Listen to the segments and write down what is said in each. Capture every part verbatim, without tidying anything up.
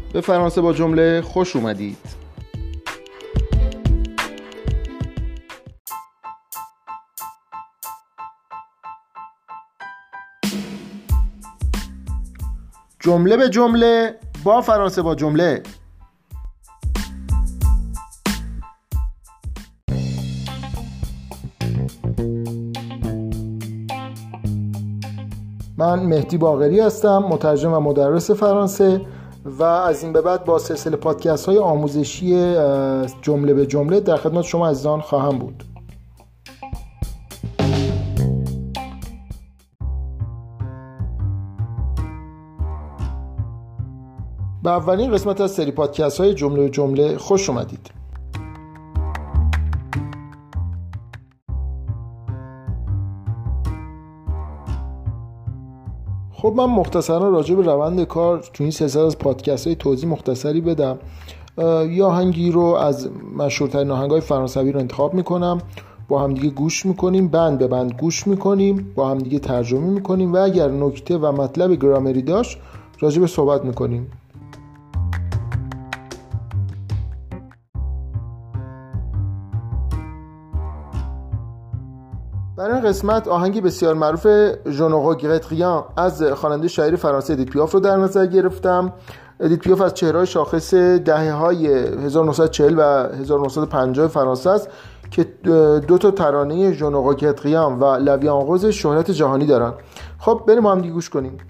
به فرانسه با جمله خوش اومدید. جمله به جمله با فرانسه با جمله. من مهدی باقری هستم، مترجم و مدرس فرانسه و از این به بعد با سلسله پادکست های آموزشی جمله به جمله در خدمت شما عزیزان خواهم بود. به اولین قسمت از سری پادکست های جمله به جمله خوش اومدید. خب من مختصرا راجع به روند کار تو این سلسله از پادکست های توضیح مختصری بدم. یه آهنگی رو از مشهورترین آهنگ‌های فرانسوی رو انتخاب میکنم، با همدیگه گوش میکنیم، بند به بند گوش میکنیم، با همدیگه ترجمه میکنیم و اگر نکته و مطلب گرامری داشت راجع به صحبت میکنیم. برای این قسمت آهنگی بسیار معروف Je ne regrette rien از خواننده شاعر فرانسه ادیت پیاف رو در نظر گرفتم. ادیت پیاف از چهره‌های شاخص دهه‌های هزار و نهصد و چهل و هزار و نهصد و پنجاه فرانسه است که دو تا ترانه Je ne regrette rien و La vie en rose شهرت جهانی دارن. خب بریم با هم دیگه گوش کنیم.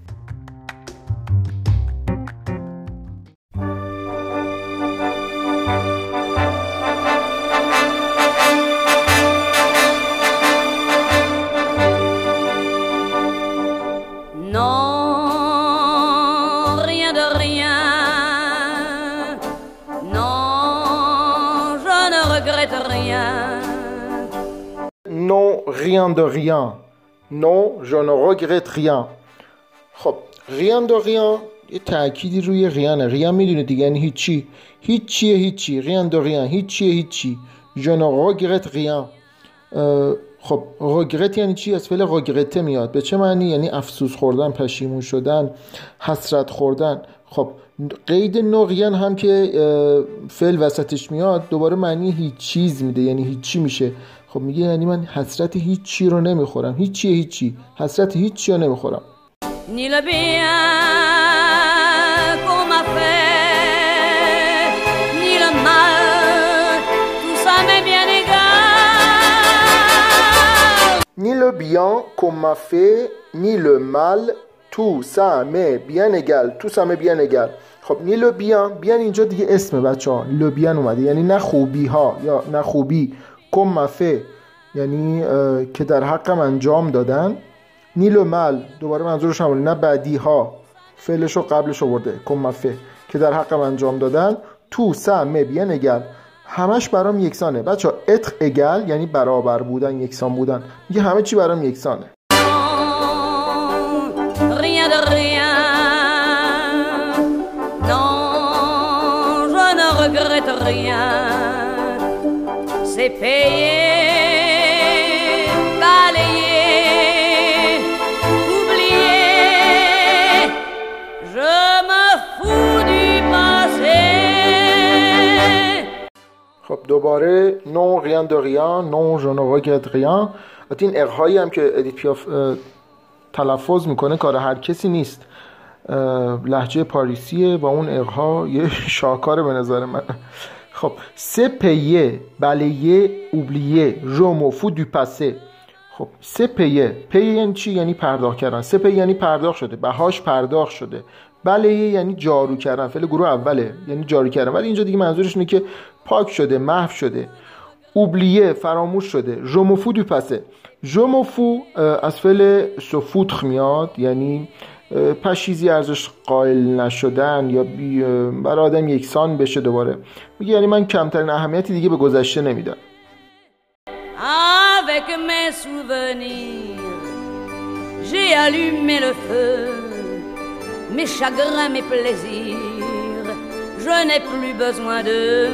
Non, rien de rien. Non, je ne regrette rien. خب rien de rien یه تأکیدی روی rien. rien میدونه دیگه، یعنی هیچی. هیچیه هیچی. rien de rien هیچیه هیچی. Je ne regrette rien. خب regret یعنی چی؟ از فعل regretter میاد. به چه معنی؟ یعنی افسوس خوردن، پشیمون شدن، حسرت خوردن. خب قید نوعیان هم که فعل وسطش میاد دوباره معنی هیچ چیز میده، یعنی هیچی میشه. خب میگه یعنی من حسرت هیچی رو نمیخورم. هیچی هیچی حسرت هیچی رو نمیخورم. Ni le bien qu'on m'a fait, ni le mal, tout ça m'est bien égal. Ni le bien qu'on m'a fait, ni le mal, tout ça m'est bien égal. Tout ça m'est bien égal. خب نی لو بیان بیان اینجا دیگه اسم بچه ها لو بیان اومده، یعنی نه خوبی ها یا نه خوبی. کم مفه یعنی که در حقم انجام دادن. نی لو مل دوباره منظورش همونه، نه بعدی ها، فعلش رو قبلش آورده. کم مفه که در حقم انجام دادن. تو سمه بیان اگل همش برام یکسانه. بچه ها اتر اگل یعنی برابر بودن، یکسان بودن. میگه همه چی برام یکسانه. Rien de rien. regrette rien, c'est payé, balayé, oublié, je me fous du passé. خب دوباره non rien de rien, non je ne regrette rien. این اقهایی هم که ادیت پیاف تلفظ میکنه کار هر کسی نیست، لهجه پاریسیه و اون اقها یه شاهکاره به نظر من. خب سه پیه بلیه اوبلیه ژو فو دو پاسه. خب سه پیه پیه یعنی چی؟ یعنی پرداخت کردن. سه پیه یعنی پرداخت شده، بهاش پرداخت شده. بلیه یعنی جارو کردن، فعل گروه اوله یعنی جارو کردن، ولی اینجا دیگه منظورش اینه که پاک شده، محو شده. اوبلیه فراموش شده. ژو فو دو پاسه. ژو فو از فعل سفوتخ میاد، یعنی پشیزی ارزش قائل نشدن یا برای آدم یکسان بشه. دوباره میگه یعنی من کمترین اهمیتی دیگه به گذشته نمیدم. Avec mes souvenirs j'ai allumé le feu, mes chagrins, mes plaisirs je n'ai plus besoin d'eux.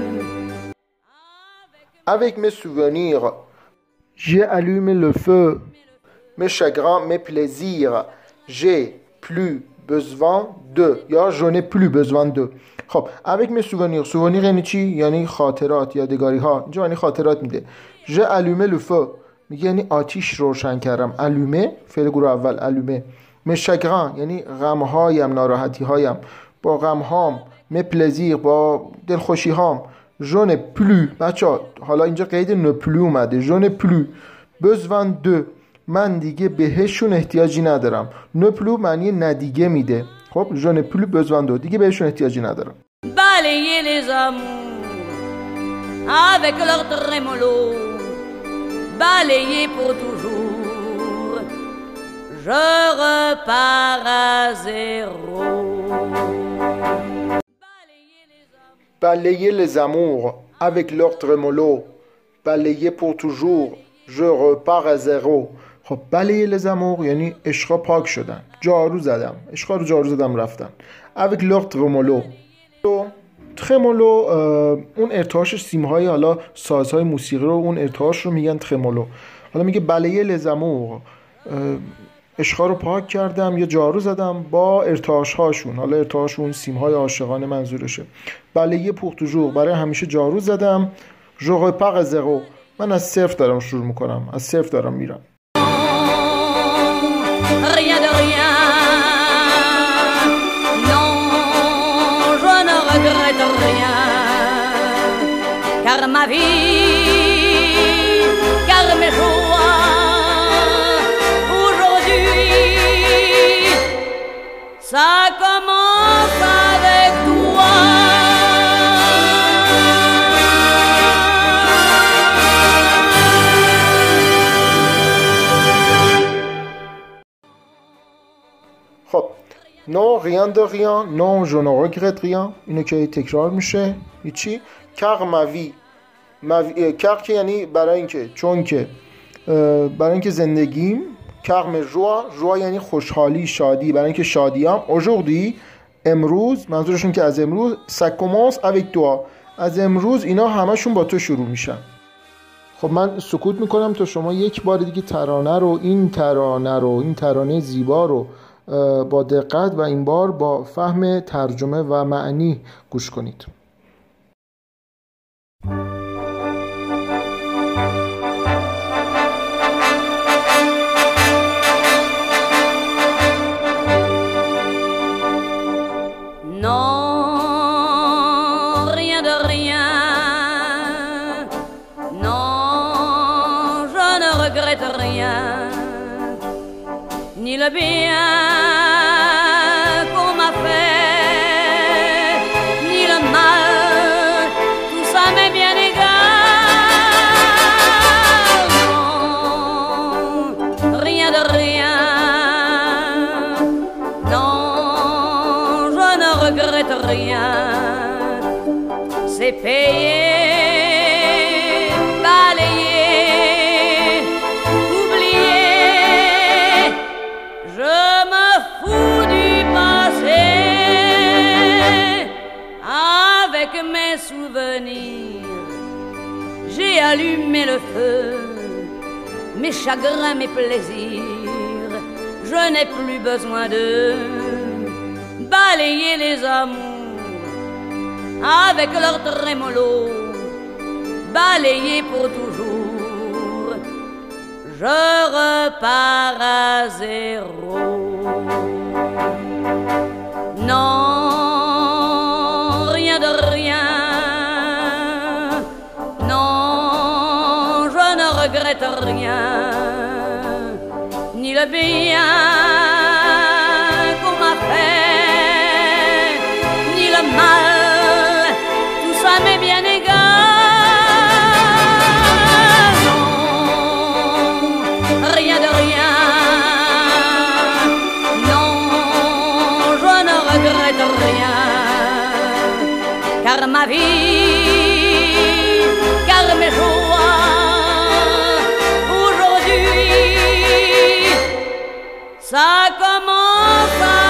Avec mes souvenirs j'ai allumé le feu, mes chagrins, mes plaisirs j'ai plus besoin de یا je n'ai plus besoin de. خب avec mes souvenirs souvenirs یعنی چی؟ یعنی خاطرات، یادگاری ها. اینجا یعنی خاطرات میده. j'ai allumé le feu میگه یعنی آتیش روشن کردم. allumé فعل گروه اول allumé. mes chagrins یعنی غم هایم، ناراحتی هایم. با غم هام mes plaisirs با دلخوشی هام. je n'ai plus بچا حالا اینجا قید ne plus اومده. je n'ai plus besoin de من دیگه بهشون احتیاجی ندارم. ne plus معنی ندیگه میده. خب je n'ai plus besoin de دیگه بهشون احتیاجی ندارم. Balayer les amours avec leur trémolo, balayer pour toujours, je repars à zéro. Balayer les amours avec leur trémolo, balayer pour toujours, je repars à zéro. خب balayer les amours یعنی عشقا پاک شدن، جارو زدم، عشقا رو جارو زدم رفتن. avec leur trémolo ترمولو اون ارتعاش سیم‌های حالا سازهای موسیقی رو اون ارتعاش رو میگن ترمولو. حالا میگه balayer les amours عشقا رو پاک کردم یا جارو زدم با ارتعاش هاشون. حالا ارتعاش اون سیم‌های عاشقانه منظورشه. balayer pour toujours برای همیشه جارو زدم. je repars à zéro من از صفر دارم شروع میکنم، از صفر دارم میرم. Rien de rien, non, je ne regrette rien, car ma vie, car mes joies, aujourd'hui, ça commence avec toi. خب non rien de rien non je ne regrette rien اینو که تکرار میشه هیچی. car ma vie ma vie car که یعنی برای اینکه، چون که، برای اینکه زندگیم. car mes joies joie یعنی خوشحالی، شادی، برای اینکه شادیام. aujourd'hui امروز منظورشون که از امروز ça commence avec toi از امروز اینا همشون با تو شروع میشن. خب من سکوت میکنم تا شما یک بار دیگه ترانه رو این ترانه رو این ترانه زیبا رو با دقت و این بار با فهم ترجمه و معنی گوش کنید. Non, rien de rien, non, je ne regrette rien, ni le bien qu'on m'a fait, ni le mal, tout ça m'est bien égal. Non, rien de rien, non, je ne regrette rien, c'est payé. J'ai allumé le feu, mes chagrins, mes plaisirs, je n'ai plus besoin de balayer les amours avec leur trémolo, balayer pour toujours, je repars à zéro. Non, rien de rien, je ne regrette rien, ni le bien qu'on m'a fait, ni le mal, tout ça m'est bien égal. Non, rien de rien, non, je ne regrette rien, car ma vie, car mes joies, ça commence à